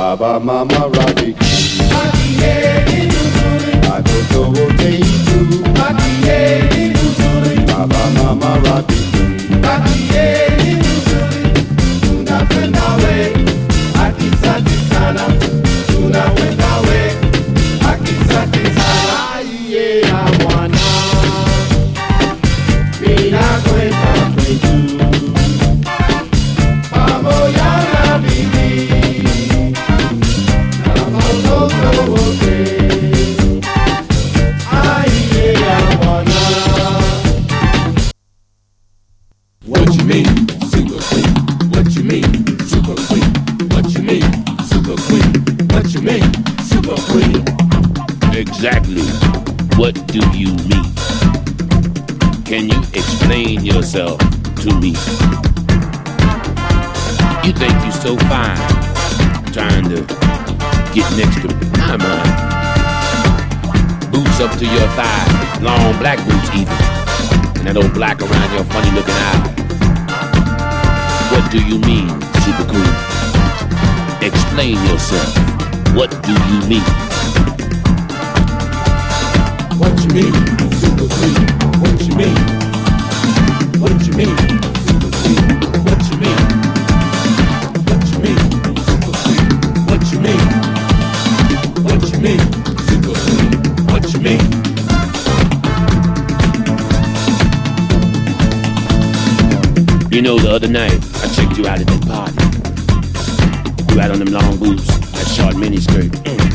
Baba mama rabi Makieni nuzuri Watoto wote itu Makieni nuzuri Baba mama rabi Makieni nuzuri Tunapenda we Akisati sana Tunawenda we Akisati sana Iye ya mwana Mina kwenda kwetu Pamoja na bibi Na watoto wote Aiye ya mwana. What you mean, super queen? What you mean, super queen? What you mean, super queen? What you mean, super queen? Exactly. What do you mean? Can you explain yourself to me? You think you're so fine, trying to get next to me. Come on. Boots up to your thighs, long black boots even, and that old black around your funny looking eye. What do you mean, super queen? Explain yourself. What do you mean? What you mean, super queen? What you mean? What you mean, super queen? What you mean? What you mean, super queen? What you mean? What you mean, super queen? What you mean? You know, the other night, I checked you out at that party. You had on them long boots, that short mini skirt.